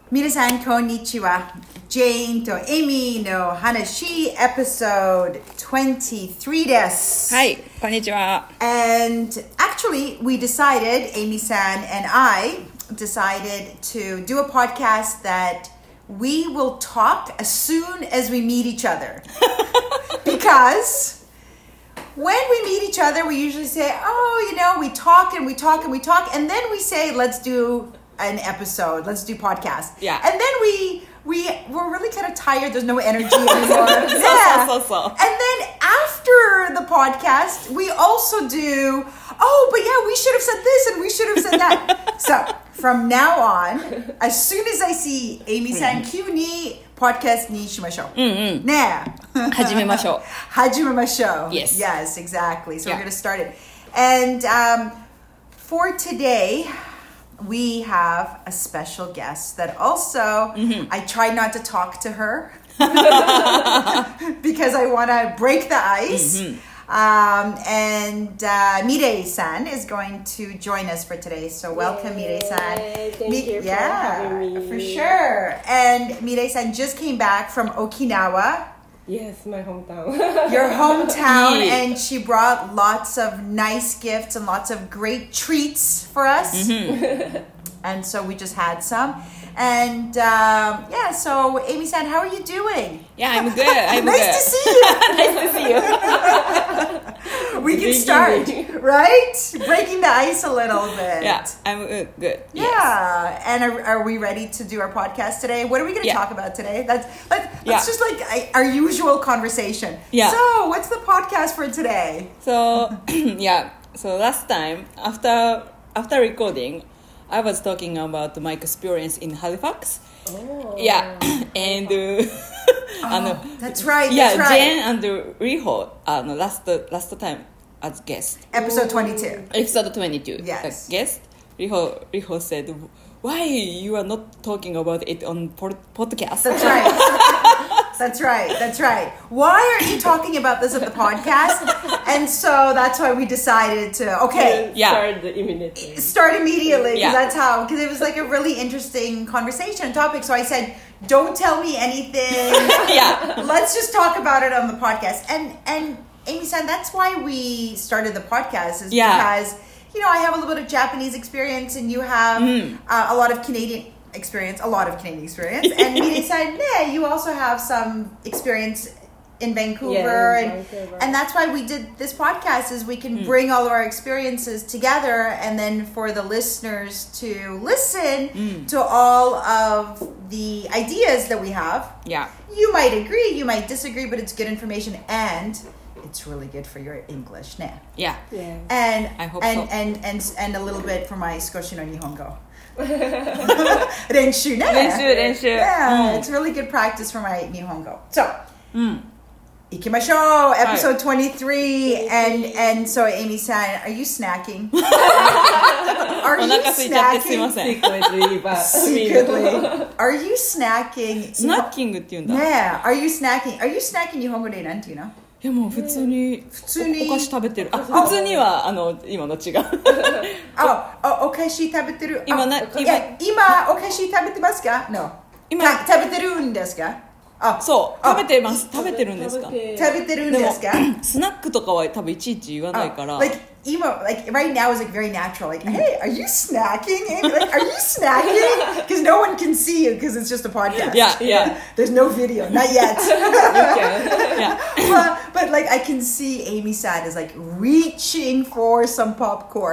皆さん、こんにちは。ジェーンとエミの話、episode 23 です。 はい、こんにちは。 And actually, we decided, Amy-san and I decided to do a podcast that we will talk as soon as we meet each other. Because when we meet each other, we usually say, we talk and we talk and we talk. And then we say, let's do an episode, let's do podcast. Yeah. And then we're really kind of tired. There's no energy anymore. So. And then after the podcast, we also do, we should have said this and we should have said that. So from now on, as soon as I see Amy-san, 急に podcast にしましょう。ねえ。 始めましょう。 始めましょう。 Yes. Yes, exactly. So we're going to start it. And for today, we have a special guest that also, I try not to talk to her because I want to break the ice. And Mirei-san is going to join us for today. So welcome, Mirei-san. Thank you for having me. For sure. And Mirei-san just came back from Okinawa. Yes, my hometown. Your hometown, Yeah. and she brought lots of nice gifts and lots of great treats for us. And so we just had some. And so Amy-san, how are you doing? Yeah, I'm good. I'm Nice good. to see you. Nice to see you. We can start, right? Breaking the ice a little bit. Yeah, I'm good. Yeah. Yes. And are we ready to do our podcast today? What are we going to talk about today? Let's just like our usual conversation. Yeah. So what's the podcast for today? So so last time after recording, I was talking about my experience in Halifax. Oh. Yeah, and That's right. yeah, That's right. Jen and Riho last time as guest. Episode 22. Episode 22. Yes. Guest Riho said, "Why you are not talking about it on podcast?" That's right. That's right. Why aren't you talking about this at the podcast? And so that's why we decided to, start immediately. Because it was like a really interesting conversation and topic. So I said, don't tell me anything. Let's just talk about it on the podcast. And Amy-san, that's why we started the podcast is because, I have a little bit of Japanese experience and you have a lot of Canadian experience. And Mirei-san, you also have some experience in Vancouver. And that's why we did this podcast is we can bring all of our experiences together and then for the listeners to listen to all of the ideas that we have. Yeah. You might agree, you might disagree, but it's good information and it's really good for your English. Yeah. And I hope so. And a little bit for my Skoshi no Nihongo. 練習 Yeah, it's really good practice for my Nihongo. So, 行きましょう Episode 23 and so Amy-san, are you snacking? Are you snacking? Secretly. Are you snacking? スナッキングって言うんだ。 Are you snacking? Are you snacking 日本語でなんて言うの？ いやもう普通にお菓子食べてる。普通には今の違う。 お菓子食べてる。 今お菓子食べてますか？ No. 食べてるんですか？ そう食べてます。食べてるんですか？ 食べてるんですか？ スナックとかは多分いちいち言わないから。 Like right now is like very natural. Like, hey, are you snacking? Like, are you snacking? Because no one can see you because it's just a podcast. Yeah. There's no video, not yet. Yeah. But like I can see Amy-san is like reaching for some popcorn.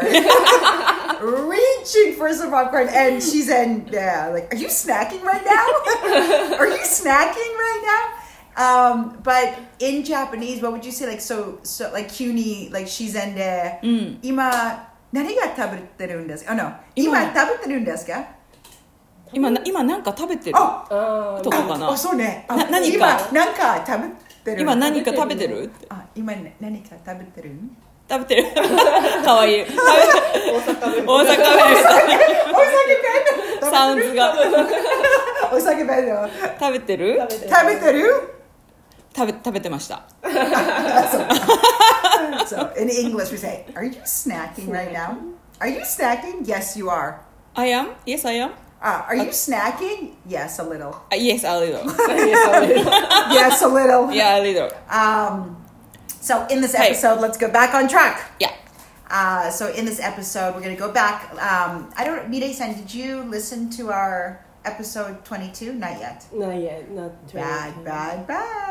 And she's in like, are you snacking right now? Are you snacking right now? But in Japanese, what would you say? Like so like 急に like 自然で、今何が食べてるんですか？今食べてるんですか？ 今なんか食べてるとこかな。 そうね。 何か今何か食べてる。 今何か食べてる？ 今何か食べてる？ 食べてる。かわいい。大阪弁。サウンズが。 お酒弁の。 食べてる？食べてました。 So in English we say, are you snacking right now? Are you snacking? Yes, you are. I am? Yes, I am. Are you snacking? Yes, a little. Yes, a little. Yes, a little. Yeah, a little. So in this episode, let's go back on track. Yeah. So in this episode, we're going to go back. Mirei-san, did you listen to our episode 22? Not yet. Not yet. Not Bad.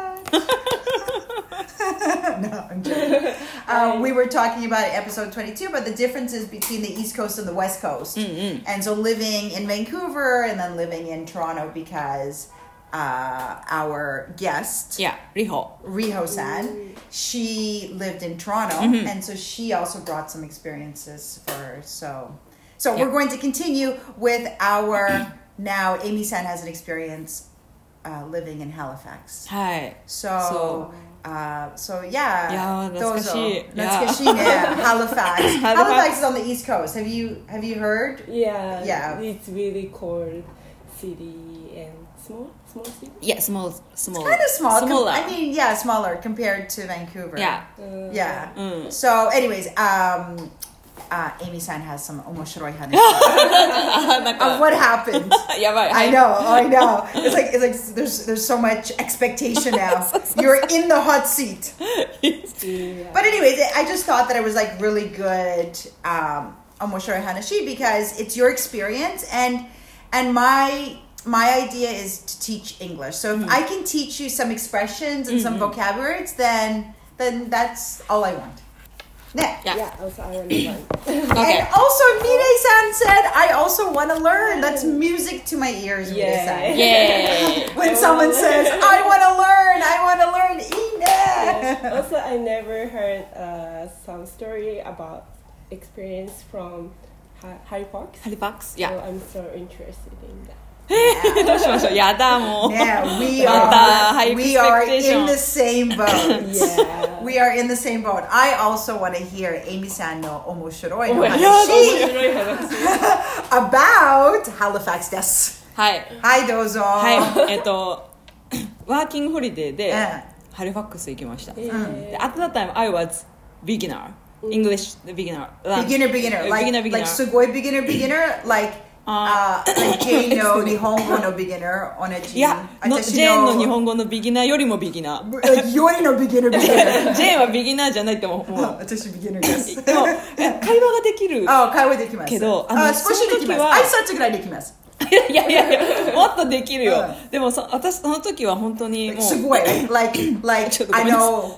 No, I'm joking. We were talking about episode 22, but the differences between the East Coast and the West Coast. And so living in Vancouver and then living in Toronto because our guest, Riho-san, she lived in Toronto, and so she also brought some experiences for her. So we're going to continue with our now Amy-san has an experience living in Halifax. Hi. So yeah. 懐かしい。 懐かしいね。Halifax. Halifax is on the East Coast. Have you heard? Yeah. It's really cold city and small city. Yeah, small. It's kind of small. Smaller. I mean, smaller compared to Vancouver. Yeah. So, anyways, Amy-san has some 面白い話 of what happened. やばい。 I know. It's like there's so much expectation now. You're in the hot seat. But anyways, I just thought that it was like really good 面白い話 because it's your experience and my idea is to teach English. So if I can teach you some expressions and some vocabularies, then that's all I want. Yeah, also I want to learn. Okay. And also, Mirei-san said, I also want to learn. That's music to my ears, Mirei-san. Yay. When someone says, I want to learn, Yeah. Also, I never heard some story about experience from Halifax. Halifax? So Yeah. I'm so interested in that. どうしましょう。やだもう。 Yeah, we high are expectation. in the same boat. Yeah. We are in the same boat. I also want to hear Amy-san no 面白い Oh my 話 about Halifax です。 はい。 はい、どうぞ。 はい。ワーキングホリデーでうんハリファックス行きました。で Yeah. At that time, I was beginner. English beginner. Beginner. Like すごい beginner. Like ジェーンの日本語の beginner 同じ。 いや、ジェーンの日本語のビギナーよりもビギナー。 よりの beginner ジェーンはビギナーじゃないってもう。 私 beginner です。 でも会話ができる。 会話できます。 けど、 少しできます。挨拶ぐらいできます。 いやもっとできるよ。でも私その時は本当にもうすごい like I know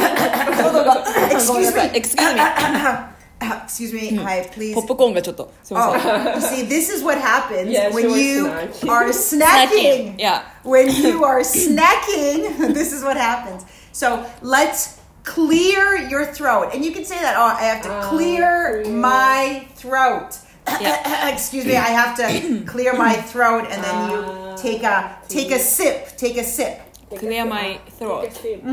excuse me hi please ポップコーンがちょっとすみません。 you see this is what happens Yeah, when you snacking. are snacking. Yeah. When you are snacking, this is what happens. So let's clear your throat, and you can say that. I have to clear my throat. Excuse me, I have to clear my throat, and then you take a sip. Clear my throat.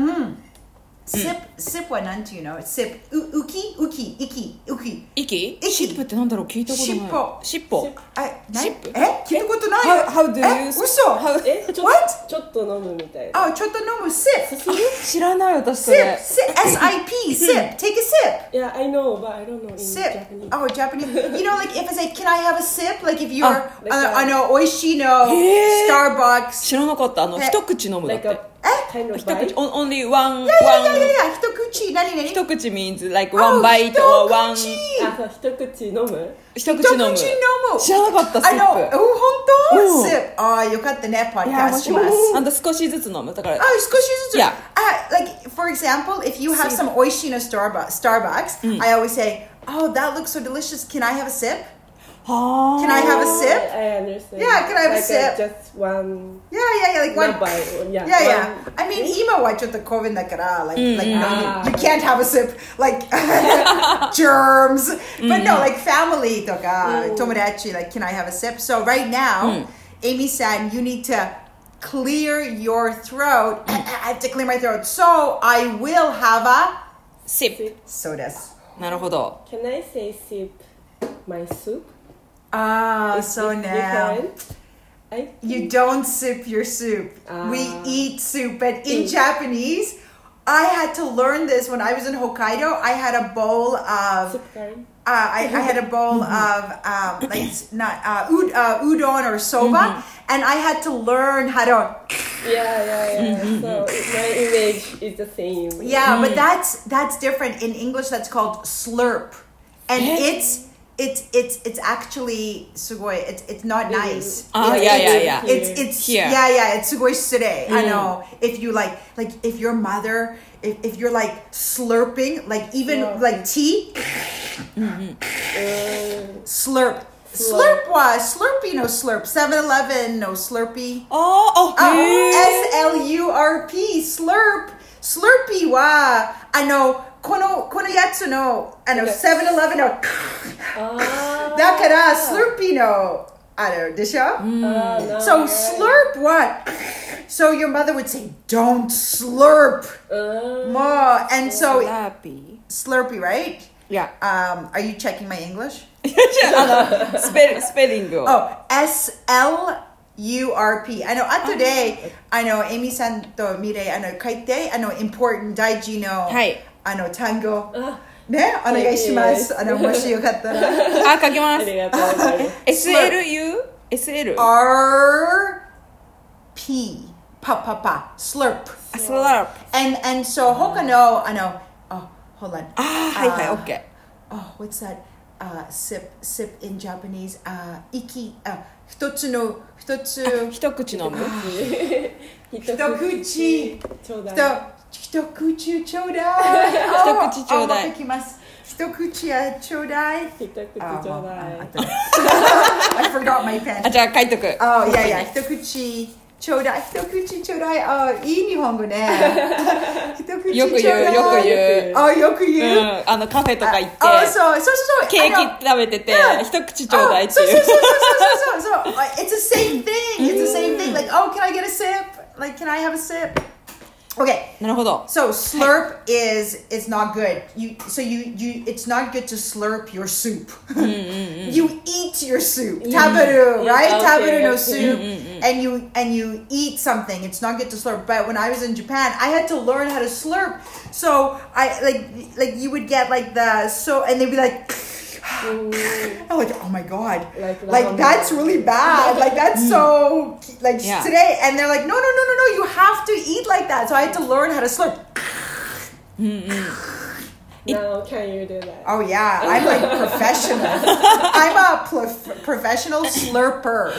Sip はなんていうの Sip ウキ息シップってなんだろう聞いたことない尻尾聞いたことない How do you 嘘ちょっと飲むみたいな。 ちょっと飲む Sip 知らない私それ SIP Sip Take a sip Yeah, I know, but I don't know in Sip Japanese. Japanese You know, like if I say, can I have a sip? Like if you're おいしいの Starbucks 知らなかった一口飲むだって Kind of 一口 bite. only one 一口何一口 means like one bite or one 一口飲む一口飲む知らなかったスープ本当 Sip よかったね podcast します少しずつ飲むだから少しずつ Yeah. Like for example if you have some おいしいの Starbucks I always say that looks so delicious can I have a sip? Can I have a sip? I understand. Yeah, can I have a sip? Just one. Yeah, like one. Not bite. Yeah. I mean, 今はちょっとCOVIDだから like no, you can't have a sip like germs. But no, like family とか友達 like can I have a sip? So right now, Amy-san, you need to clear your throat. I have to clear my throat. So I will have a sip. そうです。 なるほど。 Can I say sip my soup? So now you don't sip your soup. We eat soup. But in Japanese, I had to learn this when I was in Hokkaido. I had a bowl of I had a bowl of udon or soba, and I had to learn how to. So my image is the same. Yeah, but that's different. In English, that's called slurp, and it's actually sugoi. It's not nice. It's here. It's sugoi sure. I know. If you like if your mother, if you're like slurping, like even like tea, slurp. Slurp was Slurpee no slurp 7-Eleven no Slurpee SLURP slurp Slurpee wa このやつの7-Eleven のだからSlurpeeのでしょ So slurp what? So your mother would say don't slurp more and so Slurpee right? Yeah. Are you checking my English? スペリングを。 SLURP. I know, today, Amy さんとミレイ、書いて、important 大事の、単語。ね、お願いします。もしよかったら。 書きます。 ありがとうございます。 SLU? RP. Slurp. Slurp. And so, 他の、hold on. OK. What's that? Sip in Japanese. 息。一口飲む。 一口ちょうだい。 できます。一口やちょうだい。 一口ちょうだい。 I forgot my pen. じゃあ書いとく。 一口ちょうだい。一口ちょうだい。いい日本語ね。一口よく言う。 よく言う。 カフェとか行って。 そう。 ケーキ食べてて、一口ちょうだいっていう。 そう。It's the same thing. Like, can I get a sip? Like, can I have a sip? Okay. なるほど。 So slurp is not good. It's not good to slurp your soup. You eat your soup. Taberu, right? Taberu no soup. And you eat something. It's not good to slurp. But when I was in Japan, I had to learn how to slurp. So I like you would get like and they'd be like I'm like, oh my god, like that's really bad. Like that's so today, and they're like, no, you have to eat like that. So I had to learn how to slurp. Now can you do that? Oh yeah, I'm like professional. I'm a professional slurper.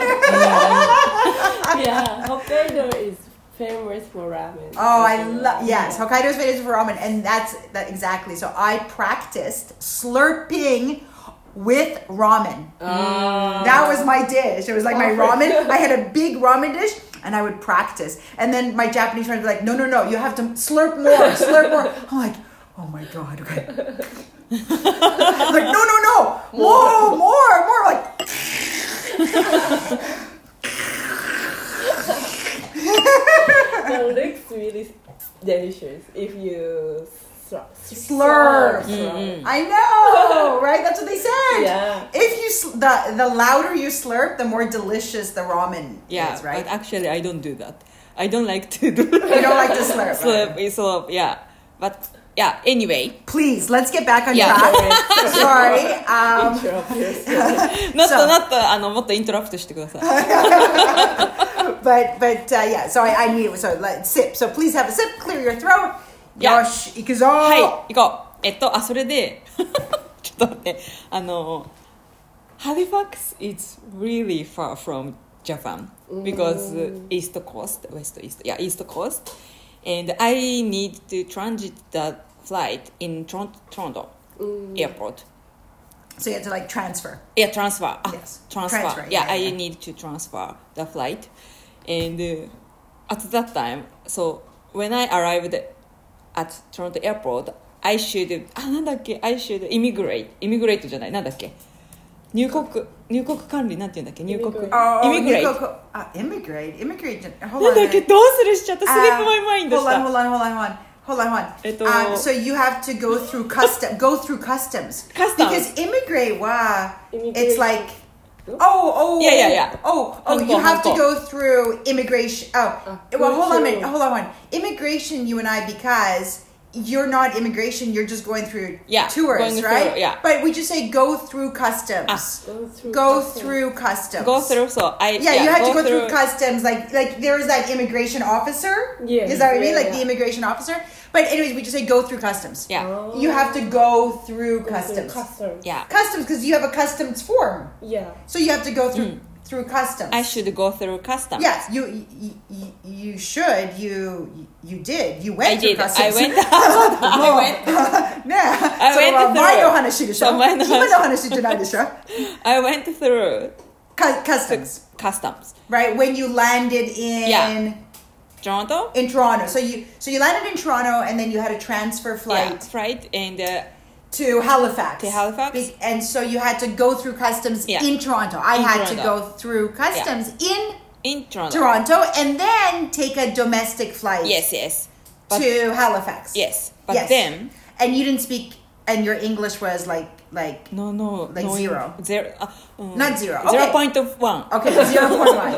Yeah, Hokkaido is famous for ramen. Oh, yes, Hokkaido is famous for ramen, and that exactly. So I practiced slurping with ramen. That was my dish. It was like my ramen. I had a big ramen dish, and I would practice. And then my Japanese friends were like, no, you have to slurp more. I'm like, oh my god, okay. Like, no, more, like. It looks really delicious if you slurp. I know, right? That's what they said. Yeah. If you the louder you slurp, the more delicious the ramen is, right? But actually, I don't do that. I don't like to do. You don't like to slurp. Slurp, yeah. But yeah. Anyway, please let's get back on track. Sorry. not もっとイントラプトしてください。 But yeah. So I need it. So let's sip. So please have a sip. Clear your throat. Yosh, 行くぞ。 はい、行こう。それでちょっと待って。Halifax is really far from Japan because East Coast, East Coast, and I need to transit the flight in Toronto airport. So you have to like transfer. Yeah, transfer. Yes. Transfer. Yeah, I need to transfer the flight, and at that time, so when I arrived at Toronto airport, I should immigrate じゃない、なんだっけ、入国管理、なんていうんだっけ、入国 immigrate Hold なんだっ on. け、どうするしちゃった、スリップマイマインドした。 Hold on. So you have to go through customs. Because immigrate it's like Yeah. You have to go through immigration. Hold on. Immigration, you and I, because you're not immigration, you're just going through Yeah, tours, going right? through, yeah. But we just say go through customs. Go through customs. Go through, so Yeah, you had to go through customs. Like there was that immigration officer. Yeah. Is that what I mean? Yeah, Like the immigration officer. But anyways, we just say go through customs. Yeah. Oh. You have to go through Go through customs. customs. Yeah. Customs, because you have a customs form. Yeah. So you have to go through through customs. I should go through customs. Yes, you should. You did. You went I through did. customs. I went. I went. ね I それ went は through. 前の話でしょそう前の話今の話じゃないでしょ I went through Customs, customs. right? When you landed in Yeah. Toronto. in Toronto. So you landed in Toronto and then you had a transfer flight Yeah, flight and to Halifax. To Halifax. And so you had to go through customs Yeah. in Toronto. I In had to Toronto. go through customs in Toronto. Toronto and then take a domestic flight Yes. But, to Halifax. yes. But Yes. then And you didn't speak, and your English was like no. Like no, zero. Not zero. Okay. 0.1. Okay, 0.1.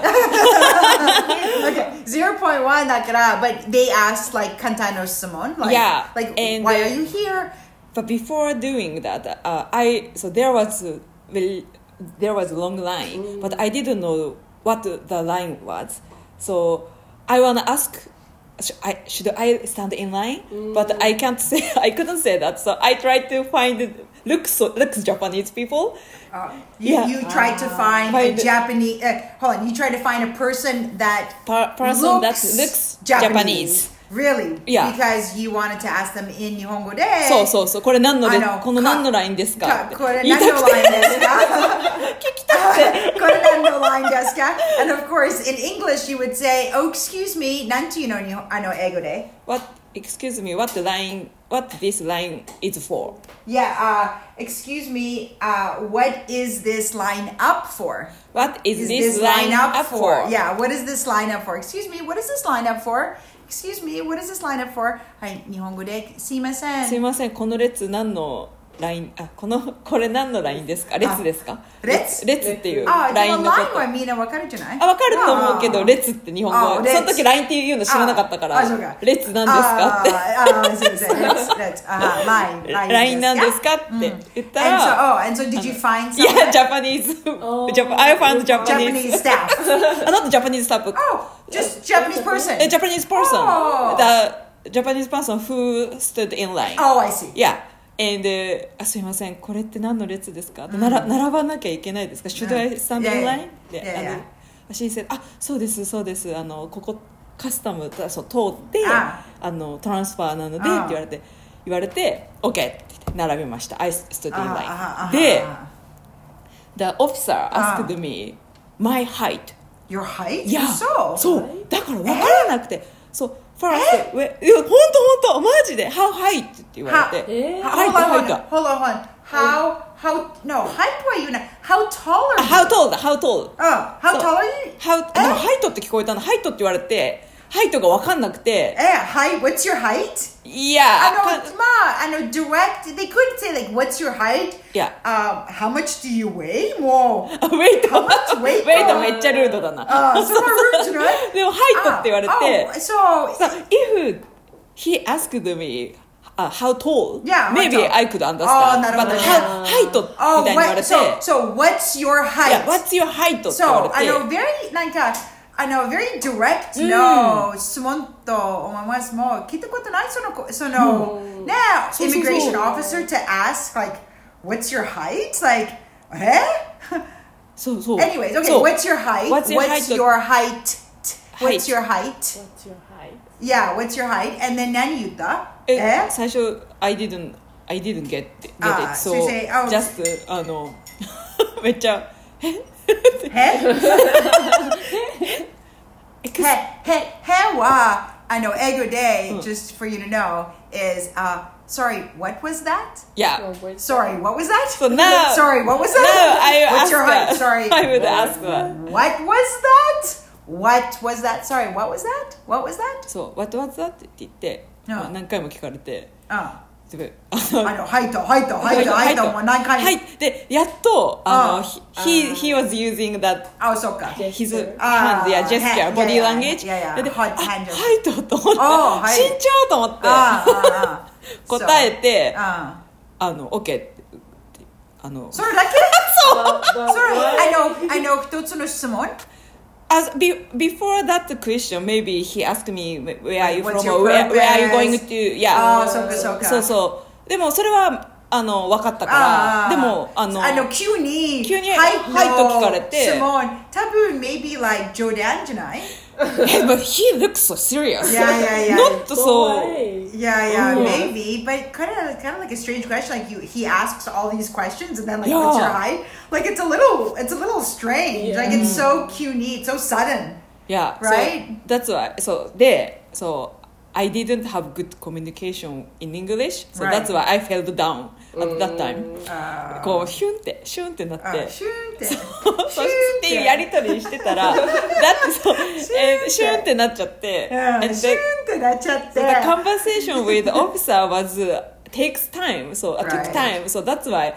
Okay, 0.1 だから, but they asked like 簡単な質問 like, Yeah, like and, why are you here? But before doing that, there was a long line, but I didn't know what the line was. So I wanna ask, should I stand in line? But I couldn't say that. So I tried to find looks Japanese people. You tried to find a Japanese. Hold on, you tried to find a person that Person that looks Japanese. Really? Yeah. Because you wanted to ask them in 日本語で。 そう。これ何のラインですか？ これ何のラインですか？聞きたくて。これ何のラインですか？And of course, in English, you would say, "Oh, excuse me." なんていうの英語で？ Excuse me, what this line is for? Yeah. Excuse me. What is this line up for? What is this line up for? Yeah. What is this line up for? Excuse me. What is this line up for? Excuse me. What is this line up for? はい、日本語ですいません。 すいません、この列何のライン、これ何のラインですか？列ですか？ 列っていうララインのこと。 ラインはみんなわかるじゃない？ わかると思うけど、列って日本語。その時ラインっていうの知らなかったから、列なんですかって。 すいません。列。 ラインなんですかって言ったら。 And so did you find someone? Yeah, Japanese. I found Japanese staff. Not Japanese staff. Oh, just Japanese person. A Japanese person. Oh. The Japanese person who stood in line. Oh, I see. Yeah. And すいません、これって何の列ですか？並ばなきゃいけないですか？ Should I stand in line? She said, そうです。ここカスタム通ってトランスファーなのでって言われて OK って並びました。I stood in line. で、the officer asked me my height. Your height? Yeah. そう。だから分からなくて。そう。First, いや、本当マジで How high? って言われて。 Hold on. No, height は言うな。How tall are you? How tall? How tall are you? ハイトって聞こえたの。ハイトって言われて、ハイトが分かんなくて。 What's your height? いや、 direct, they could say like, what's your height? Yeah. How much do you weigh? もう。 ウェイト How much weight? ウェイトめっちゃルードだな。 それはルードじゃない？ でもハイトって言われて。 So if he asked me how tall, maybe I could understand. But ハイトみたいに言われて。 So what's your height? Yeah, what's your height? って言われて。 very direct no 質問と思いますもう聞いたことないそのね immigration officer to ask like what's your height like そう anyways okay what's your height what's your height yeah what's your height and then 何言った？ 最初 I didn't get it so just めっちゃへは英語で just for you to know is sorry what was that? Yeah. Sorry what was that? So now, sorry what was that? No, what's your height? Sorry. I would ask that. What was that? What was that? Sorry what was that? What was that? そう What was that? って言って、何回も聞かれてはいともう何回はいでやっとhe was using that そうか his hand gesture body language ではいと思って慎重と思って答えてOK ってそれだけI know 一つの質問 before that question, maybe he asked me where are you What's from your or where are you progress? going to, yeah. そうかそうでもそれは分かったからでも急にはいと聞かれて質問多分 maybe like 冗談じゃない But he looks so serious. Yeah. Not so. Yeah, maybe. But kind of like a strange question. Like he asks all these questions and then like what's your height? Like it's a little strange. Yeah. Like it's so cute, it's so sudden. Yeah. Right? So that's why. So I didn't have good communication in English. So Right. that's why I fell down at that time. こうシュンってなって。 シュンってそうっていうやりとりしてたらだってそうシュンってなっちゃって、 シュンってなっちゃって the conversation with the officer was takes time, so it took time, so that's why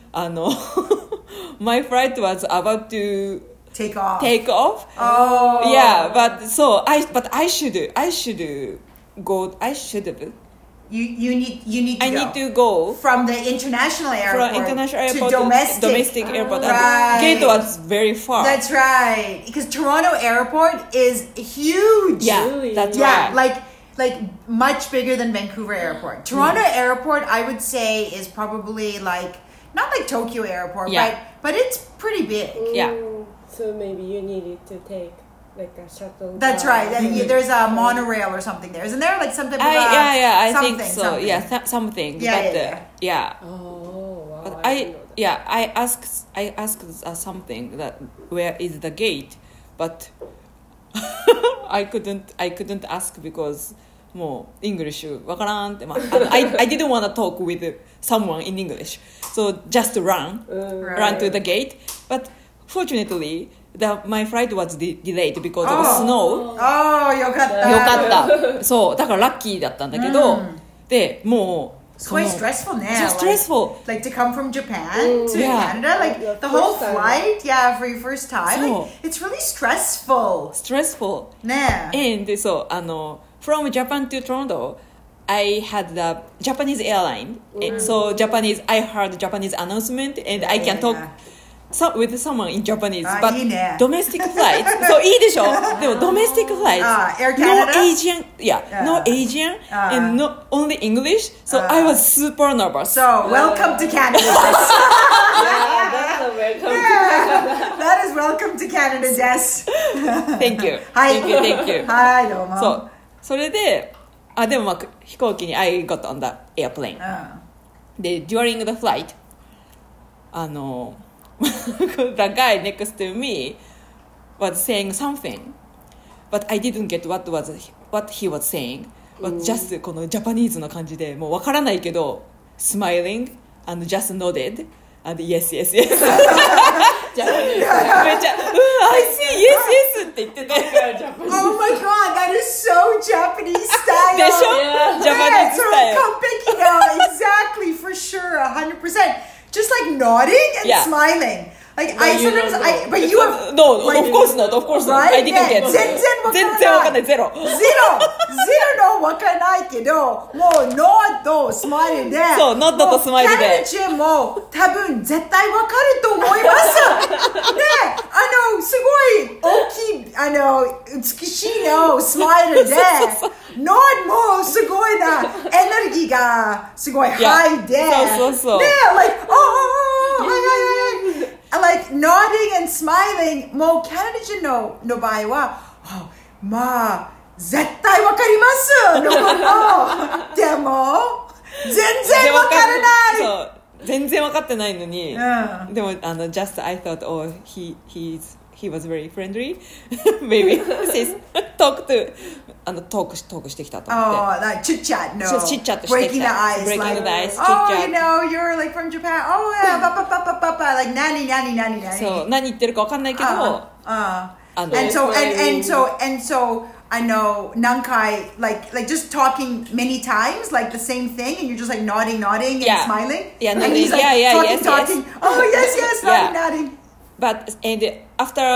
my flight was about to take off. Yeah, but I should go. I should have. You need to I need to go from the international airport to domestic airport. Right. Gate was very far. That's right. Because Toronto airport is huge. Yeah, Really? that's Yeah, right. like much bigger than Vancouver airport. Toronto airport, I would say, is probably like not like Tokyo airport, but it's pretty big. Yeah. So maybe you needed to take like a shuttle. That's right. There's a monorail or something there. Isn't there like some type of I something, think so. something. Yeah, something. Yeah. Oh wow. But I didn't know that. I asked something that where is the gate, but I couldn't ask because もう English わからんって、I didn't want to talk with someone in English, so just run to the gate. But fortunately, my flight was delayed because of snow. よかったそうだからラッキーだったんだけど、でもう It's quite stressful now. So stressful. Like to come from Japan to Yeah. Canada, like Your the whole first time. flight, for your first time. So- Like, it's really stressful. stressful. Nah. And so from Japan to Toronto, I had the Japanese airline. And so I heard Japanese announcement and I can talk with someone in Japanese. But いいね domestic flights. そういいでしょでも domestic flights. Air No Canada? Asian. No Asian. And no only English. So I was super nervous. So, welcome to Canada. Yeah, that's a welcome. That is welcome to Canada, Jess. Thank you. はい Thank you. はい、どうも。 そうそれででも飛行機に I got on the airplane で during the flight the guy next to me was saying something but I didn't get what he was saying but just このジャパニーズの感じでもうわからないけど smiling and just nodded and yes めっちゃI see yes って言ってて Oh my god, that is so Japanese style. でしょジャパニーズスタイル Exactly, for sure, 100%. Just like nodding and smiling. Like But you don't know. but you have No, of course not. Right? I didn't get. 全然わかんないゼロ。 ゼロのわかんないけど、もうノッドスマイルで、 そうノッドとスマイルでキャナダ人も多分絶対わかると思います。ね、すごい大きい美しいのスマイルで、ノッドもすごいなエネルギーがすごいハイで、 そう。 ね、like like nodding and smiling もうキャナダ人の場合はまあ絶対わかりますでも全然わからないそう全然わかってないのに、でもjust I thought he was very friendly maybe talk してきたと思って like chit chat no chit chat してきた breaking the ice breaking like the ice chit oh chat you know you're like from Japan oh yeah like 何そう何言ってるかわかんないけど And so I know Nankai, like just talking many times, like the same thing, and you're just like nodding and smiling. Yeah, and he's like talking. Yes. Oh, yes, nodding. But then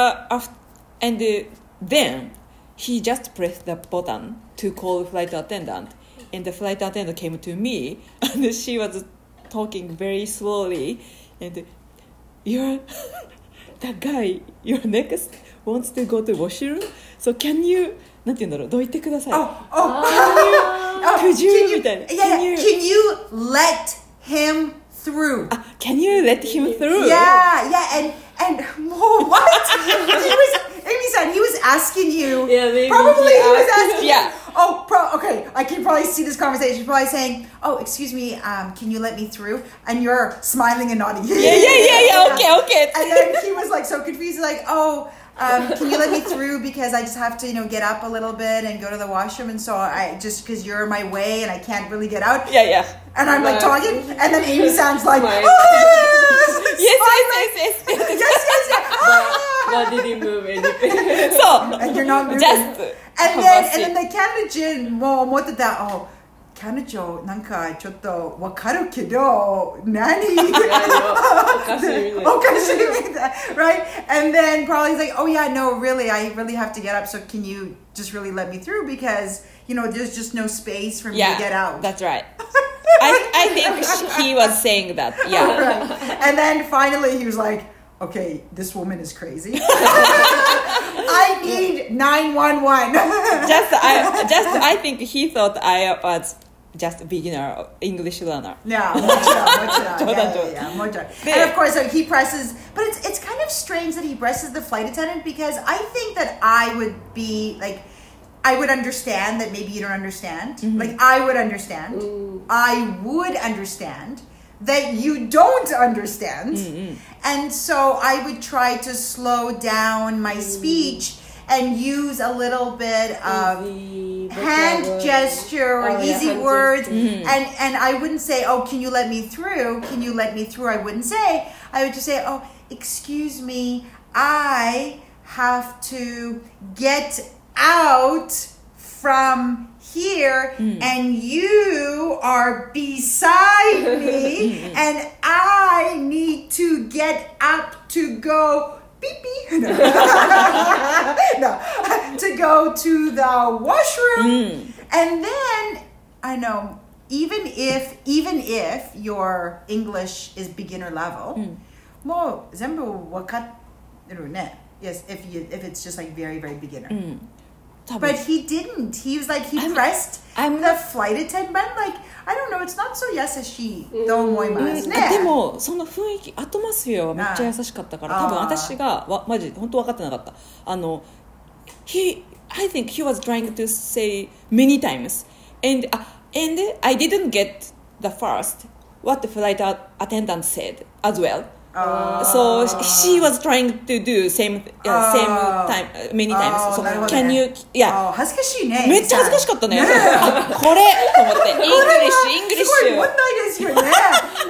he just pressed the button to call the flight attendant, and the flight attendant came to me, and she was talking very slowly, and you're that guy, your next wants to go to washroom, so can you なんて言うんだろう、どいてください。Could you みたいな。 Can you let him through? Can you let him through? Yeah, and what? Amy-san, he was asking you. Yeah, maybe probably he was asking. Yeah. Okay. I can probably see this conversation. He's probably saying, "Oh, excuse me, can you let me through?" And you're smiling and nodding. Yeah. Okay. And then he was like so confused, he's like, "Oh, can you let me through because I just have to, get up a little bit and go to the washroom, and so I just because you're in my way and I can't really get out." Yeah. And I'm like talking, and then Amy sounds like, yes. But didn't move anything. So and you're not moving. Just and then the Canada も思ってた、oh, 彼女なんかちょっとわかるけど何おかしいみたい right? And then probably he's like, oh yeah, no, really, I really have to get up, so can you just really let me through because there's just no space for me to get out. That's right. I think he was saying that. Yeah. Right. And then finally he was like, okay, this woman is crazy. I need 911. I think he thought I was just a beginner English learner. Yeah, and of course he presses, but it's kind of strange that he presses the flight attendant because I think that I would be like, I would understand that maybe you don't understand. Mm-hmm. Like I would understand. I would understand that you don't understand. Mm-hmm. And so I would try to slow down my speech and use a little bit of hand gesture or easy words. Mm-hmm. And I wouldn't say, oh, can you let me through? Can you let me through? I wouldn't say. I would just say, oh, excuse me, I have to get out from here and you are beside me and I need to get up to go beep beep no, to go to the washroom and then I know even if your English is beginner level もう全部わかってるね yes if it's just like very very beginner But he didn't. He was like, pressed the flight attendant button. Like, I don't know, it's not so 優しいと思いますね。 でも、その雰囲気、アトモスフェアはめっちゃ優しかったから、多分私が、マジ、本当分かってなかった。I think he was trying to say many times. And I didn't get the first, what the flight attendant said as well.So she was trying to do same time many times. So can you? Yeah. 恥ずかしいね。 めっちゃ恥ずかしかったね。これと思ってイングリッシュ。 すごい問題ですよね。ね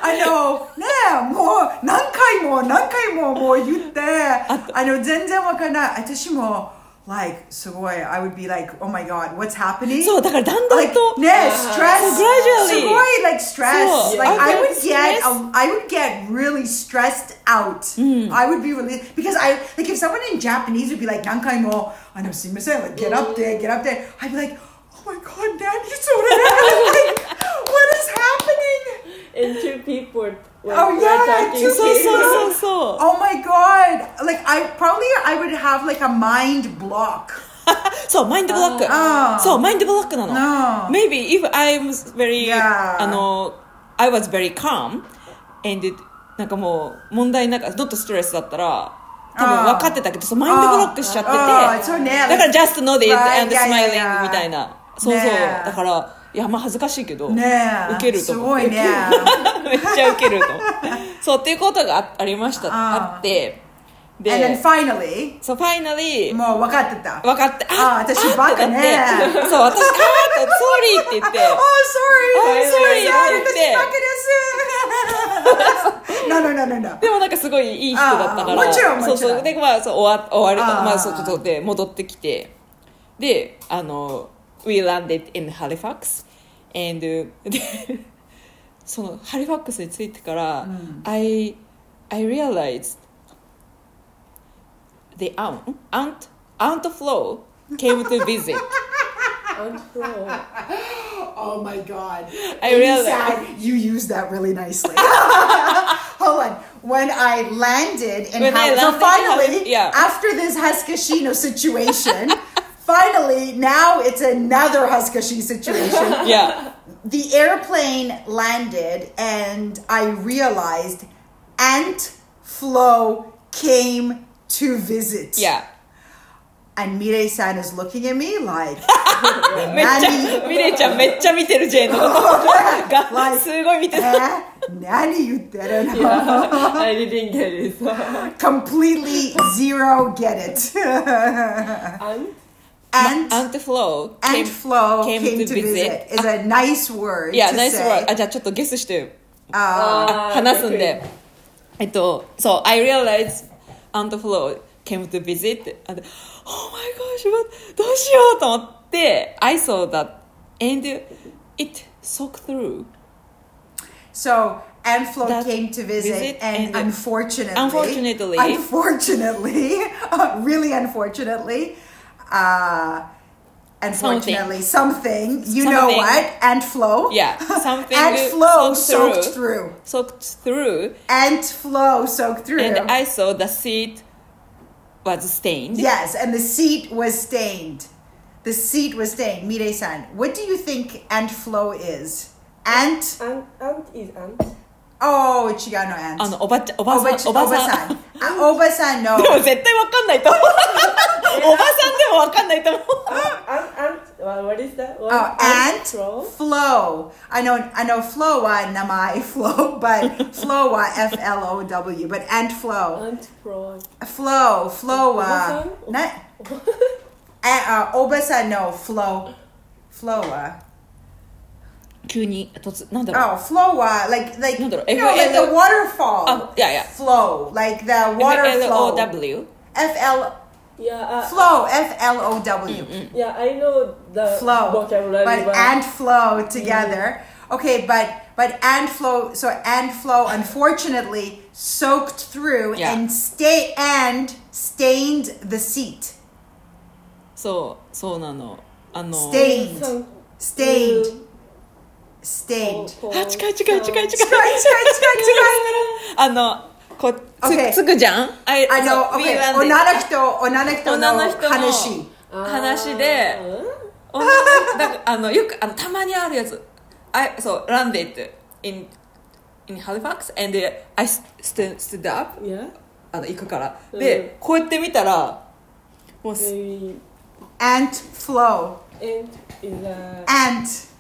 もう何回ももう言って全然わからない。私も。Like, すごい I would be like, oh my god, what's happening? そう、だからだんだんと stress. すごい like stress. Like, I would get really stressed out. I would be really, because like if someone in Japanese would be like, 何回もすいません like, get up there. I'd be like, oh my god, Daddy, so like, what is happening? And two people were talking. So. Oh my god. Like I would have like a mind block. そう、マインドブロック。そう、マインドブロックなの。Maybe if I was very, I was very calm and なんかもう問題なく、not stress だったら多分分かってたけど、そうマインドブロックしちゃってて、だから just nodded and smiling みたいな。そうだから。いやまあ恥ずかしいけど、受けると思う。すごいね。めっちゃ受けると。そうっていうことがありました。あって。 で、and then finally. そう finally。 もう分かってた。 分かって。 私バカね。 そう私sorry って言って。 Oh sorry。 sorry って言って。 私バカです。 No, no, no, no, no. でもなんかすごいいい人だったからもちろんもちろんそうそうでまあそう終わるあーまあそうちょっとで戻ってきてでwe landed in Halifax and でそのハリファックスに着いてから、I realized the aunt Flo came to visit. Aunt Flo. Oh my god. I realized you used that really nicely. Hold on. When I landed in so finally, after this Haskashino situation, finally, now it's another Haskashi situation. Yeah. The airplane landed and I realized Aunt Flo came to visit. Yeah. And Mirei-san is looking at me like, めっちゃミレイちゃんめっちゃ見てるジェーンのことがすごい見てる。 何言ってるの Yeah, I didn't get it. Completely zero get it. Aunt Flo came to visit. Is a nice word. Yeah, to nice say. word. じゃあちょっとゲスして話すんで。So I realized Aunt Flo came to visit. And, oh my gosh, どうしようと思って、I saw that and it soaked through. So Aunt Flo came to visit and unfortunately, really unfortunately, something, you know what? Aunt Flo. Yeah, something Aunt Flo soaked through. Soaked through. Aunt Flo soaked through. And I saw the seat was stained. Yes, and the seat was stained. The seat was stained. Mirei-san, what do you think Aunt Flo is? Aunt is aunt. Oh, 違うの aunt. おばさん。 おばさんの。 でも絶対わかんないと思う。おばさんでもわかんないと思う。 What is that? Aunt Flo. I know Flo は名前 Flo, but Flo は F-L-O-W, but Aunt Flo. Aunt Flo. Flo はおばさんの Flo は急になんだろう。 flow は like なんだろう。 you know like the waterfall. Flow like the water flow. F-L-O-W. Flow F-L-O-W. Yeah, I know the flow vocabulary. But and flow together. Okay, but and flow. So and flow unfortunately soaked through and stained the seat. そうなの。 stained. 近い。つくじゃん。 女の人の話で、よくたまにあるやつ。そう、landed in Halifax and I stood up. 行くから。で、こうやって見たら、もう Aunt Flo. Aunt.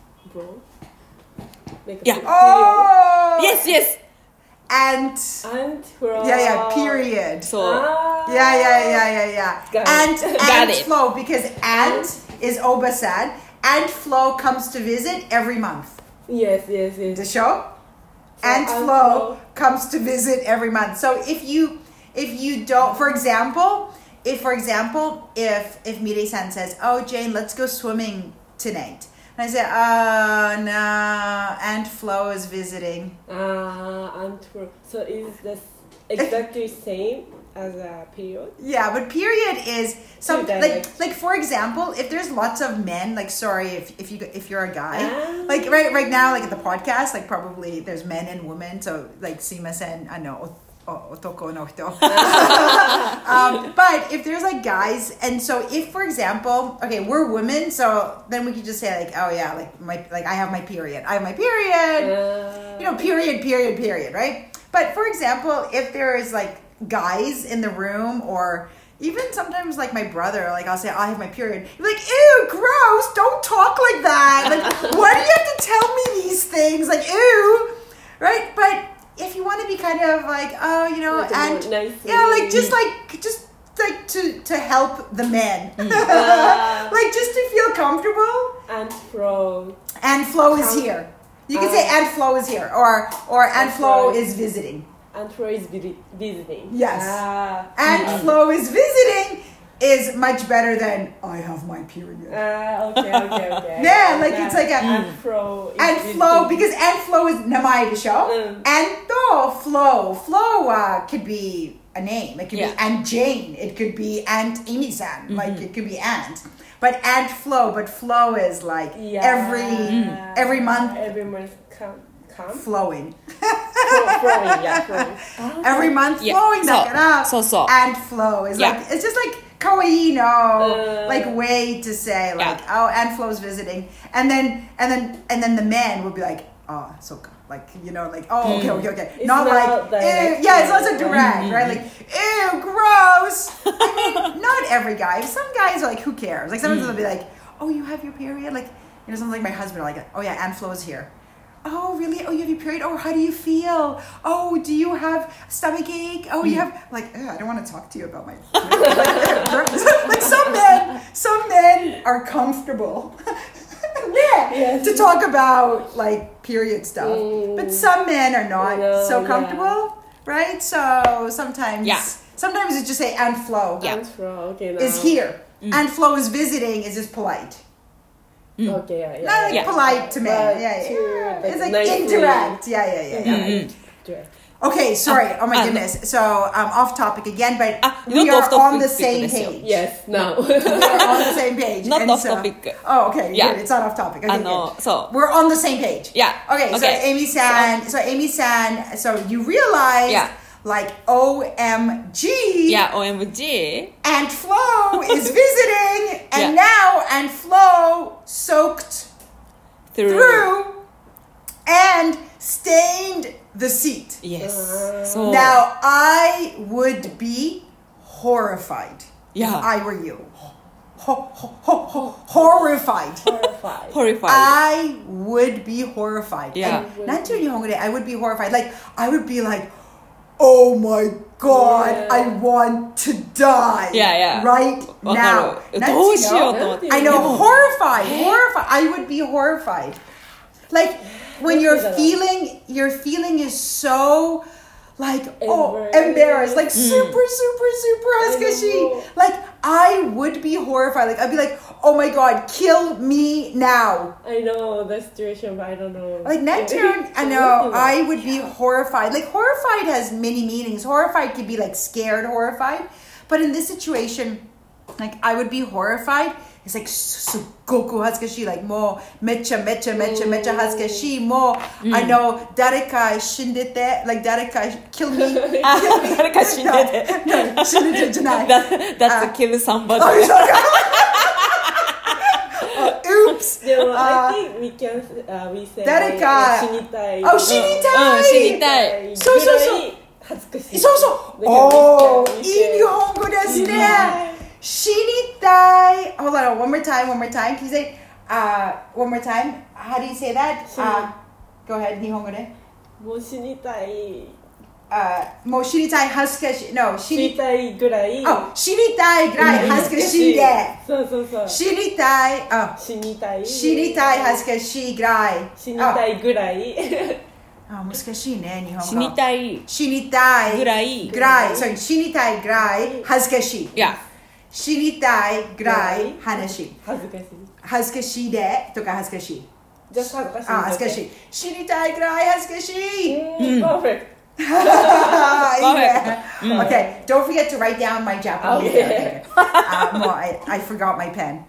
Yeah. Oh. Yes. Aunt Flo. Yeah. Period. So. Yeah. Aunt it. Flo because Aunt is Obasan. Aunt Flo comes to visit every month. Yes. The show. Aunt Flo comes to visit every month. So if you don't, for example, if Mirei-san says, "Oh, Jane, let's go swimming tonight." And I say, no, Aunt Flo is visiting. Aunt Flo. So is this exactly same as a period? Yeah, but period is something like for example, if there's lots of men, like sorry if you're a guy, like right now, like at the podcast, like probably there's men and women. So like simasen, I know. Otoko no hito. But if there's like guys, and so if for example, okay, we're women, so then we could just say like, oh yeah, like I have my period. You know, period, right? But for example, if there is like guys in the room, or even sometimes like my brother, like I'll say, I have my period. You're like, ew, gross, don't talk like that. Like, why do you have to tell me these things? Like, ew, right? But if you want to be kind of like, oh, you know, like and nice just to help the men, like just to feel comfortable. Aunt Flo is here. You can say Aunt Flo is here, or Aunt Flo is visiting. Aunt Flo is visiting. Yes. Aunt Flo is visiting is much better than I have my period. Okay. Yeah, like it's like a Aunt Flo. Aunt Flo, because Aunt Flo is 名前でしょ Aunt と Flo. Flo could be a name. It could be Aunt Jane. It could be Aunt Amy-san. Like it could be Aunt. But Aunt Flo, but Flo is like every month. Every month come. Flowing. Flowing. Every month flowing だから Aunt Flo is like, it's just like kawaii no like way to say like oh Aunt Flo's visiting, and then the man will be like oh soka, like you know like oh okay it's not like ew, it's also direct right, like ew gross. I mean not every guy, some guys are like who cares, like sometimes they'll be like oh you have your period, like you know something like my husband like oh yeah Aunt Flo's here. Oh really? Oh you have your period? Oh how do you feel? Oh do you have stomach ache? Oh you have like I don't want to talk to you about my period. Like some men are comfortable to talk about like period stuff, but some men are not so comfortable, right? So sometimes you just say Aunt Flo Aunt Flo is here. Aunt Flo is visiting is just polite. Okay, not like polite to men. It's like indirect. Direct. Okay, sorry. Oh my goodness. So off topic again, but we are on the same page. Yes, no. We are on the same page. Not off topic. Oh, okay. Good. It's not off topic. Okay, good. So we're on the same page. Okay. So Amy-san. So you realize. Like OMG. OMG. Aunt Flo is visiting, and now Aunt Flo soaked through and stained the seat. Yes. So now I would be horrified. If I were you. Horrified. I would be horrified. Not too young. I would be horrified. Like I would be like, oh my god, I want to die. Right now. I know, horrified. I would be horrified. Like when your feeling is so like embarrassed, like super hazukashi. Like I would be horrified. Like I'd be like, oh my god, kill me now. I know the situation, but I don't know. Like Neptune, I know, I would be horrified. Like horrified has many meanings. Horrified could be like scared, horrified. But in this situation, like I would be horrified. It's like sugoku hazukashi, like mo mecha hazukashi, mo I know dareka shindete, like dareka kill me. Dareka shindete. No, shindete janai. That's to kill somebody. Oops. No, I think we can we say 誰か shinitai. Oh, shinitai. 知りたい。 そう。Oh, いい日本語ですね。Shinitai. Hold on, one more time. Can you say one more time? How do you say that? Go ahead, 日本語で。 もう死にたい。 もう死にたい恥ずかしい。No, 死にたいぐらい。 死にたいぐらい恥ずかしいで。 そう。 死にたい恥ずかしいぐらい。 死にたいぐらい。 難しいね、日本語。 死にたいぐらい。そう、死にたいぐらい恥ずかしい。死にたいぐらい話。恥ずかしいでとか恥ずかしい。 じゃあ恥ずかしい。 死にたいぐらい恥ずかしい。 Perfect. Okay, don't forget to write down my Japanese. Okay. I forgot my pen.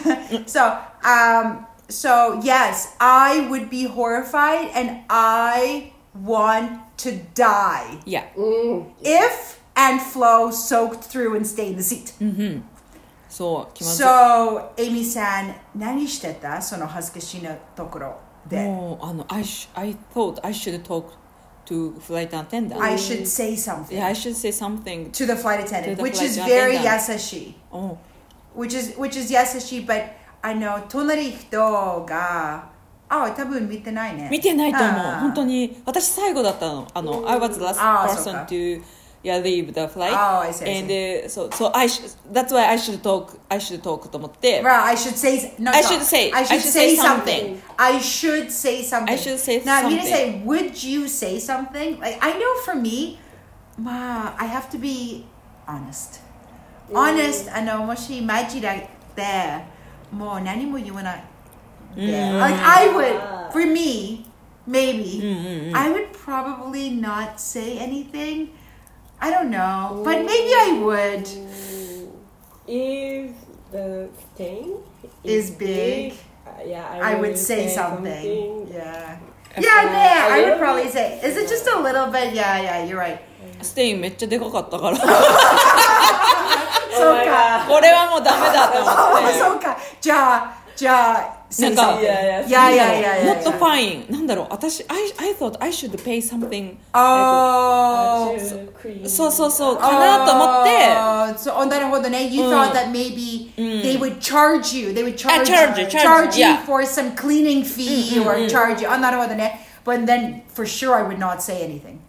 So yes, I would be horrified and I want to die. If Aunt Flo soaked through and stained the seat. So, Amy-san, 何してた？その恥ずかしいなところで。 I thought I should talk to flight attendant. I should say something. I should say something to the flight attendant, which is very yasashi. Which is yasashi, but 隣人が多分見てないね。 見てないと思う。本当に私最後だったの。I was the last person to leave the flight. Oh, I see. And so that's why I should talk と思って。 Right, I should say something. I should say something. I should say now, I'm something. going to say, would you say something? Like, I know for me, I have to be honest. Honest, もしマジだってもう何も言わない。Like, I would, for me, maybe, I would probably not say anything. I don't know, but maybe I would. If the stain is big, I would say something. Yeah, I would probably say. Is it just a little bit? Yeah, you're right. ステインめっちゃでかかったからそうか。 これはもうダメだと思って。 そうか。じゃあ。 なんか、 not fine。なんだろう、私、I thought I should pay something. そう、かなと思って。 なるほどね。You thought that maybe they would charge you. They would charge you for some cleaning fee or charge you. なるほどね。But then, for sure, I would not say anything.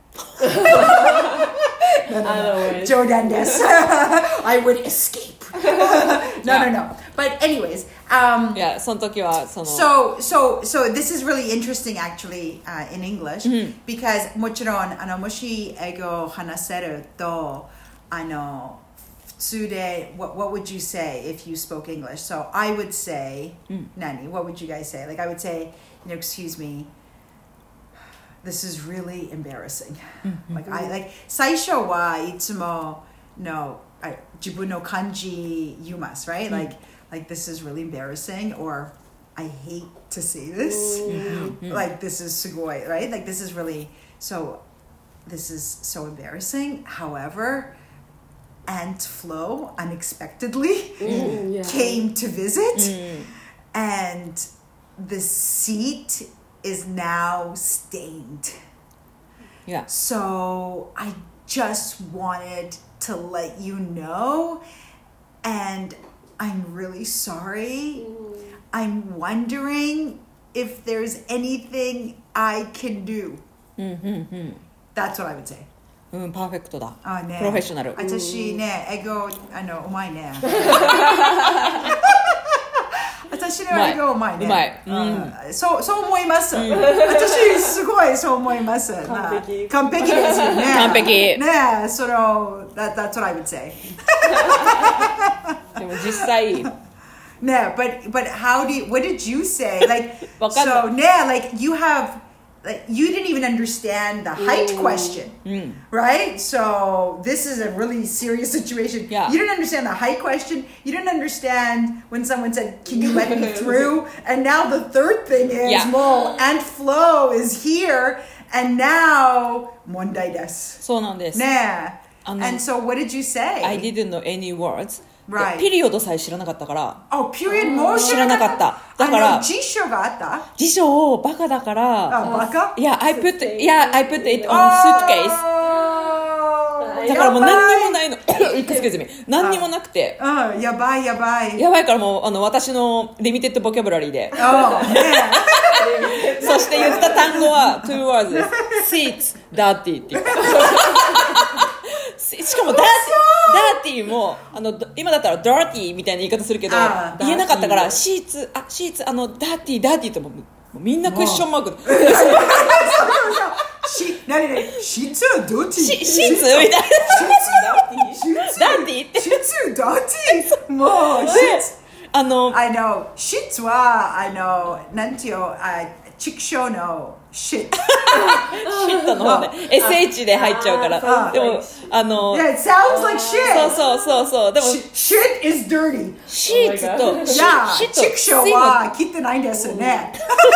No. 冗談です。I would escape. No. But anyways, その時はその So this is really interesting actually in English because もちろんもし英語を話せると普通で what would you say if you spoke English? So I would say, Nani, what would you guys say? Like I would say, excuse me, this is really embarrassing. Like I 最初はいつも自分の感じ言います right? Like this is really embarrassing or I hate to say this. Like this is すごい right? Like this is so embarrassing. However, Aunt Flo unexpectedly came to visit and the seat is now stained. Yeah. So I just wanted to let you know, and I'm really sorry. I'm wondering if there's anything I can do. That's what I would say. パーフェクトだ。 ね、 プロフェッショナル。 私ね、英語うまいね。私の英語うまいね。 うまい。 そう思います。私すごいそう思います。完璧ですよね。 完璧。 ね、that's what I would say. でも実際。 ね、but what did you say? Like so, like you didn't even understand the height question, right? So this is a really serious situation. Yeah. You didn't understand the height question. You didn't understand when someone said, "Can you let me through?" And now the third thing is, well, Aunt Flo is here, and now 問題です。 そうなんです。 ね。And so what did you say? I didn't know any words. Right. ピリオドさえ知らなかったから。 ピリオドも知らなかった。だから辞書があった？ 辞書バカだから。 バカ ？I put it on suitcase. だからもう何にもないの。Excuse me. 何にもなくて。 やばい。 やばいからもう私のリミテッドボキャブラリーで。そして言った単語は2 words です。Seats, dirty って言った。しかもダーティーも今だったら dirty みたいな言い方するけど言えなかったからシーツダーティーともみんなクエスチョンマーク何シーツダーティーシーツみたいなダーティーってシーツダーティーもうシーツシーツはなんていう畜生のシットの方ね SH で入っちゃうからでも Yeah, it sounds like shit そうでも Shit is dirty シーツと畜生は切ってないんですよね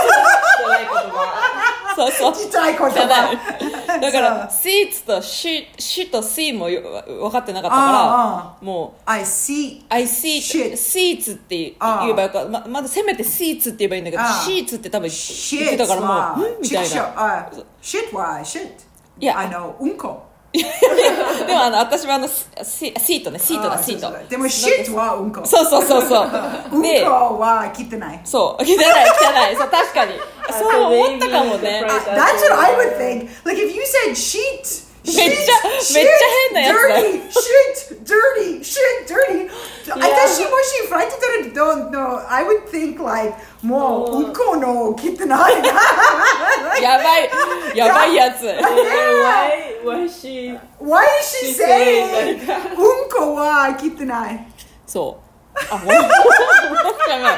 そうちっちゃい言葉だからシーツとシと C も分かってなかったからもう I see shit シーツって言えばよかったまだせめてシーツって言えばいいんだけどシーツって多分言ってたからもうみたいな shit は shit いやうんこでも私はシートねシートでも shit はうんこそううんこは切ってないそう汚いそう確かにそう思ったかもね That's what I would think like if you said sheet めっちゃ変なやつだ。 Dirty. Yeah. 私もしフライトだら don't know, I would think like もううんこの汚いやばいやつ。 Why she Why is she saying うんこは汚いそう。あ、ほんとやばい。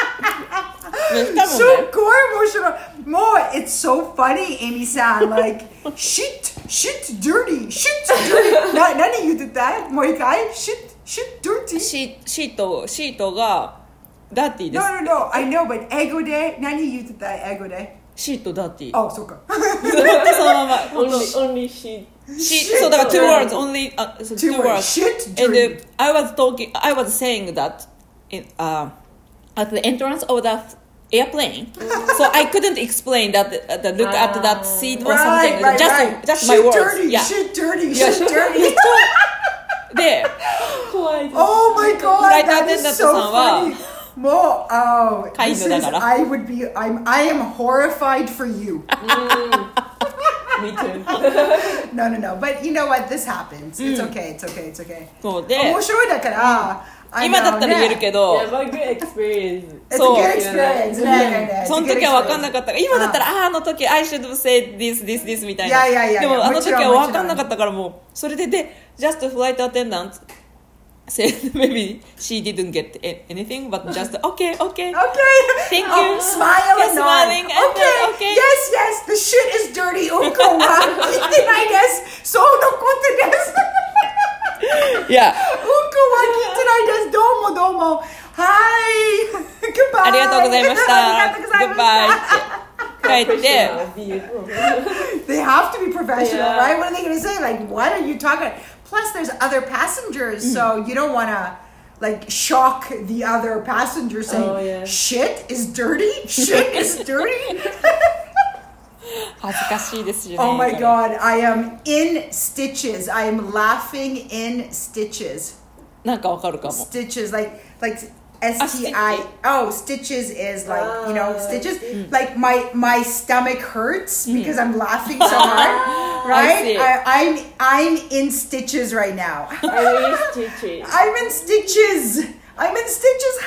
すっごい面白い。もう it's so funny, Amy さん like shit dirty 何言ってた？もう一回 shit dirty シートがダーティーです。 No, I know, but 英語で何言ってた？英語でシートダーティー。 あ、そうかそのまま。 only she そうだから two words only two words. Shit And dirty I was saying that at the entrance of the airplane, so I couldn't explain that the look at that seat or something. Just my shit words. dirty, Yeah. shit dirty で、 怖い。 Oh my フ god, ライトア that テン is ダント so さんは funny もう、oh, 飼い this 犬だ is, から I am horrified for you. Me too. No. But you know what? This happens. It's okay. It's okay. そうで、 面白いだから、 今だったら言えるけど、 Yeah, but good experience. It's a そう good experience. ねその時は分かんなかったから、今だったら、あの時 I should say this みたいな。 いやでもあの時はもちろん分かんなかったからもう、それで、just flight attendant said maybe she didn't get anything, but just, okay. Okay. Thank you. Oh, smile Yeah, and nod. smiling and Okay. Yes. The shit is dirty. うんこは汚いです。そうのことです。 いや、 うんこは汚いです。どうも。はい。Goodbye. ありがとうございました。 ありがとうございました。 Goodbye って帰って、 They have to be professional, Yeah. right? What are they going to say? Like, what are you talking? Plus, there's other passengers, so you don't want to like shock the other passenger saying, Oh, yeah. "Shit is dirty. Shit is dirty." 恥ずかしいですよね。 Oh my god, I am in stitches. I am laughing in stitches. なんかわかるかも。 Stitches, like STI. Oh, stitches is like, you know, stitches. Like my stomach hurts because I'm laughing so hard, right? I see. I'm in stitches right now. I'm in stitches. I'm in stitches. I'm in stitches.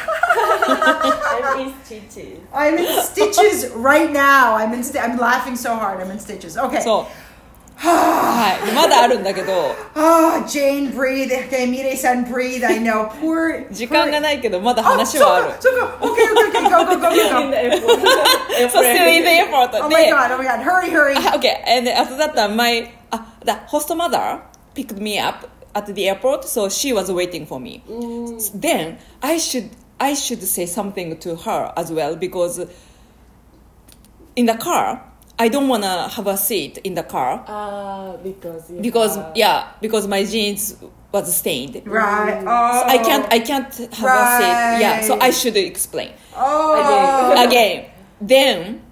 I'm in stitches right now. I'm laughing so hard. I'm in stitches. Okay. そう。はい。まだあるんだけど、 Oh, Jane, breathe. Okay, Mire-san, breathe. I know. Poor. 時間がないけどまだ Oh, 話はある。 so okay. Go. In the airport. そう、still in the airport. Oh my god. Hurry. Okay, and after that, the host mother picked me up at the airport, so she was waiting for me. Then I should say something to her as well because in the car I don't wanna have a seat in the car because my jeans was stained. Right. So Oh. I can't have a seat. Yeah, so I should explain Oh. again. Then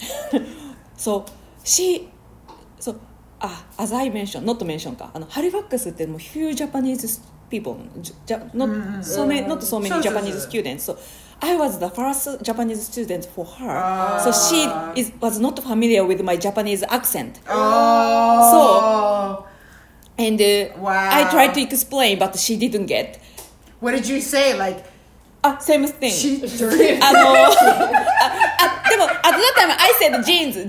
as I mentioned, not mention かハリファックスってもう few Japanese people, not so many Japanese students. So I was the first Japanese student for her. So she was not familiar with my Japanese accent. Oh. And Wow. I tried to explain, but she didn't get. What did you say? Like, Same thing. she dirty. でもat that time I said jeans.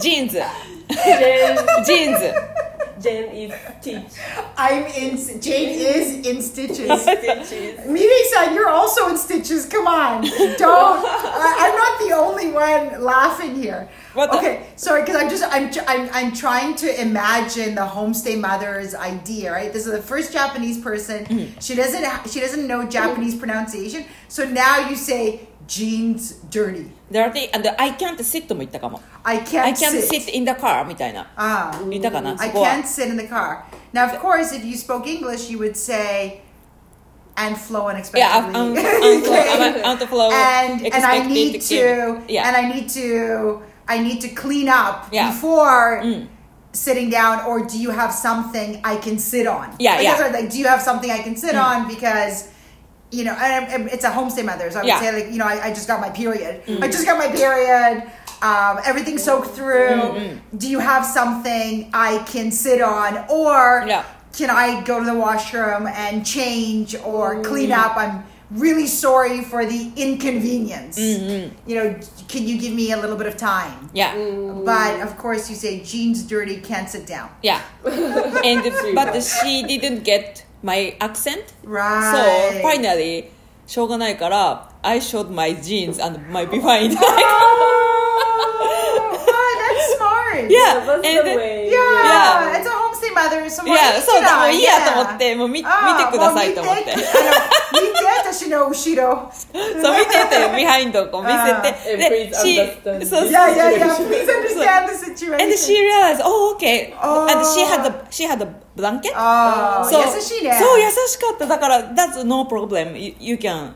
Jen is teach. Jane is in stitches. Miri-san, you're also in stitches. Come on. I'm not the only one laughing here. Okay, sorry, because I'm trying to imagine the homestay mother's idea, right? This is the first Japanese person. She doesn't know Japanese pronunciation. So now you say jeans dirty. Dirty, and I can't sit も言ったかも。 I can't sit in the car みたいな。言ったかな I そこは can't sit in the car. Now, of course, if you spoke English, you would say, and flow unexpectedly. Yeah, outflow and I need expected. to, Yeah. and I need to clean up Yeah. before sitting down, or do you have something I can sit on? Like, do you have something I can sit on? Because, and it's a homestay mother, so I would say, like, I just got my period. I just got my period. everything's soaked through. Do you have something I can sit on, or can I go to the washroom and change or clean up? I'm really sorry for the inconvenience. You know, can you give me a little bit of time? But of course you say jeans dirty, can't sit down. And but she didn't get my accent. Right. So finally しょうがないから I showed my jeans and my behind. That's smart. That's the way. Yeah, it's a homestay mother. そうだ、もういいやと思って、もう見てくださいと思って。 見て、私の後ろ。 そう、見てて、ビハインドをこう見せて。 で、 Yeah, please understand the situation. And she realized, oh, okay. And she had a blanket. 優しいね。 そう、優しかった。だから、that's no problem. You can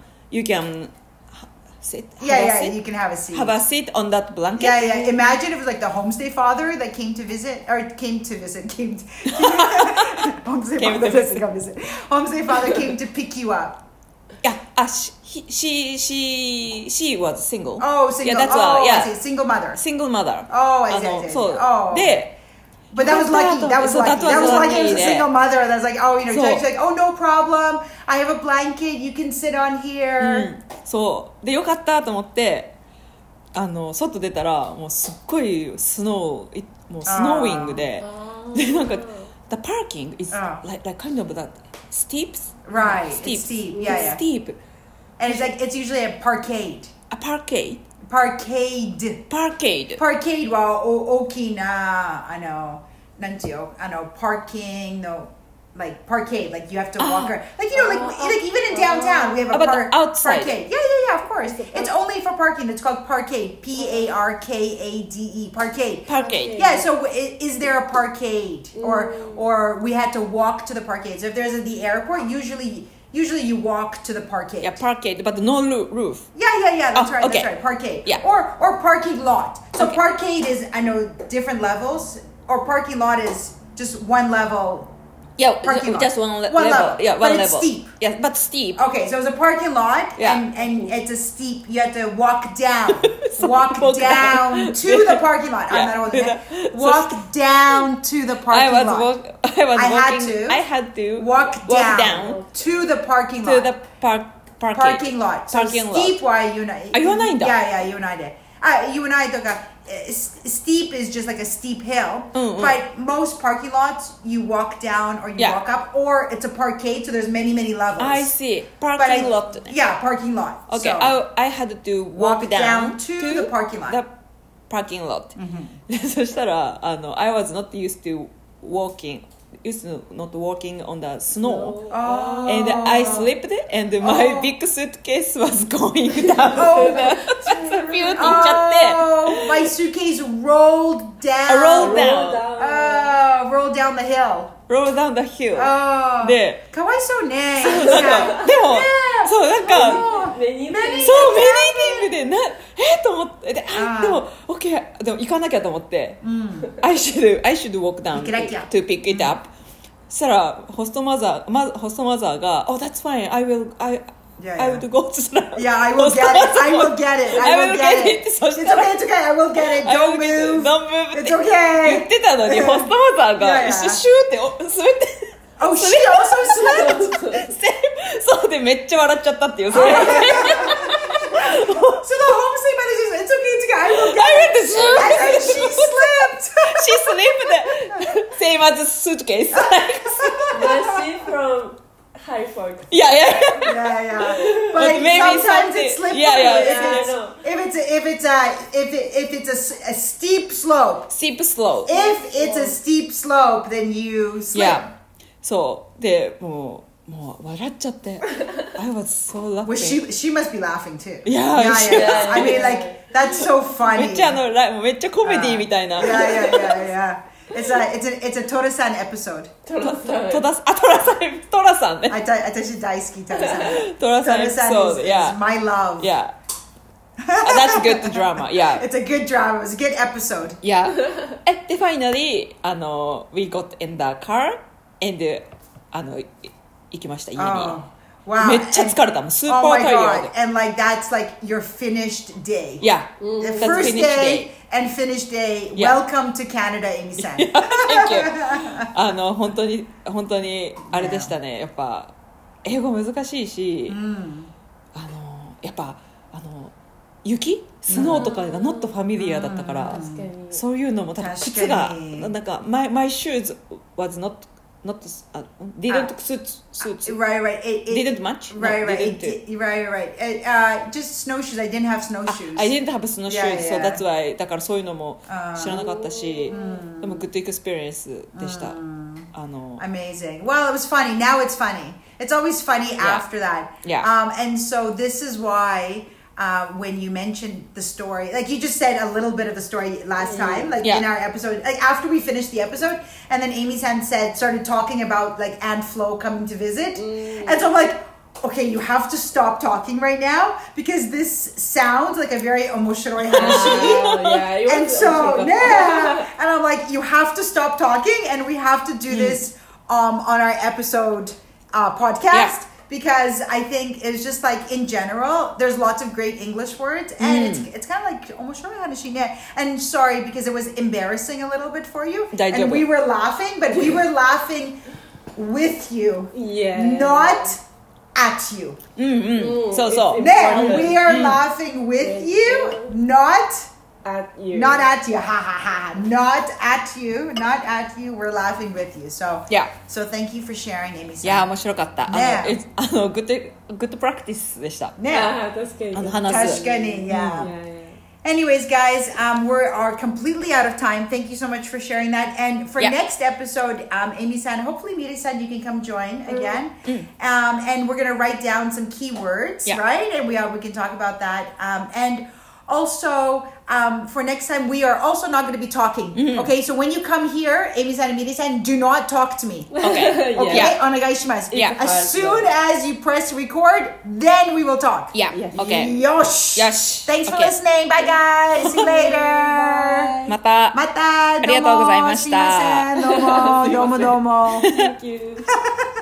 sit. You can have a seat. Have a seat on that blanket. Imagine if it was like the homestay father that came to visit. Homestay father came to pick you up. She was single. Oh, single. Yeah, that's why. I see. Single mother. Single mother. Oh, I see. そう。で、 But that was lucky. That was lucky. That was lucky. It was a single mother. That was like, oh, you know, she's like, oh, no problem. I have a blanket. You can sit on here. そうでよかったと思って外出たらもうすっごいもうスノーイングでなんか the parking is like kind of that steep. Right. It's steep. Yeah. Steep. And it's like it's usually a parkade. A parkade. Parkade は大きななんていうparking のlike parkade, like you have to walk around, like you know, like even in downtown we have a outside. Parkade. Yeah, of course. It's only for parking. It's called parkade. Parkade. Parkade. Yeah. So is there a parkade, or we had to walk to the parkade? So if there's at the airport, usually you walk to the parkade. Yeah, parkade, but no roof. Yeah. That's right. Okay. That's right. Parkade. Yeah. Or parking lot. So parkade is, I know, different levels. Or parking lot is just one level. Yeah, parking lot. Just one level. Yeah, but one it's level. Steep. Yeah, but steep. Okay, so it's a parking lot, and it's a steep. You have to walk down, walk down to the parking lot. I'm not holding it. Walk down to the parking lot. I had to walk down to the parking lot. To the parking lot. So steep は言わない。 言わないんだ。 Yeah, 言わないで。言わないとか。Steep is just like a steep hill, but most parking lots you walk down or you walk up, or it's a parkade, so there's many levels. I see. Parking lot. Yeah, parking lot. Okay, so I had to walk down to the parking lot. The parking lot. そしたらI was not used to walking on the snow. And I slipped and my big suitcase was going down. My suitcase rolled down. Rolled down the hill. Rolled down the hill. で、かわいそうね。 でも、そうなんか、 メニーティングでと思って、でも、OK、でも行かなきゃと思って、I should walk down to pick it up. そしたら、ホストマザーが、Oh, that's fine, I would go to the Yeah, I will get it. It's okay, I will get it. Don't move. It's okay. 言ってたのに、ホストマザーが、シューって滑って、 Oh, she also slipped. そうで、めっちゃ笑っちゃったっていう。それ So the homestay mother says, it's okay, I will get it. And she slipped. Same as suitcase. Was she from Halifax? Yeah. But maybe sometimes it's slippery. If it's a steep slope. Steep slope. If it's a steep slope, then you slip. Yeah. そうでもう笑っちゃって。I was so laughing. Well, she must be laughing too. Yeah. I mean, like that's so funny. めっちゃめっちゃコメディみたいな。 Yeah. It's a Tora-san episode. Tora-san ね。 私大好きTora-san. Tora-san episode. is my love. Yeah. That's good drama. Yeah. It's a good drama. It's a good episode. Yeah. And finally, we got in the car and 行きました家に。 Wow. めっちゃ疲れたもん。スーパ Oh ー my タイヤ god. ー And like that's like your finished day. Yeah. The That's first finished day and finished day. Yeah. Welcome to Canada, Amy-san. Thank you. 本当にあれでしたね。やっぱ英語難しいし、やっぱ雪スノーとかが not familiar だったから、そういうのも多分靴がなんか my shoes was not didn't suit Right. It didn't match. Right. Didn't. Right. Just snowshoes. I didn't have snowshoes. I didn't have snowshoes, Yeah, so yeah. that's why だからそういうのも知らなかったし、でもグッドエクスペリエンスでした。 Amazing. Well, it was funny. Now it's funny. It's always funny after that. Yeah. And so this is why when you mentioned the story, like you just said a little bit of the story last time, like in our episode, like after we finished the episode, and then Amy-san started talking about like Aunt Flo coming to visit. And so I'm like, okay, you have to stop talking right now because this sounds like a very omoshiroi hanashi. And so, and I'm like, you have to stop talking and we have to do this on our episode podcast. Because I think it's just like in general, there's lots of great English words, and it's kind of like omoshiroi hanashi ne. And sorry because it was embarrassing a little bit for you, and we were laughing, but we were laughing with you, not at you. So we are laughing with you, not at you. Not at you. Ha ha ha. Not at you. Not at you. We're laughing with you. So So thank you for sharing, Amy-san. いや面白かった。 ねグッドプラクティスでした。 ね。 確かに。 話す。 確かに。Anyways, guys, we are completely out of time. Thank you so much for sharing that. And for next episode, Amy-san, hopefully Miri-san, you can come join again. And we're going to write down some keywords, right? And we can talk about that. And also, for next time, we are also not going to be talking. Okay, so when you come here, Amy-san and Miri-san, do not talk to me. Okay. Onegaishimasu. As soon as you press record, then we will talk. Okay. Yosh. Thanks for listening. Bye, guys. See you later. また。 ありがとうございました。 どうも。 Thank you.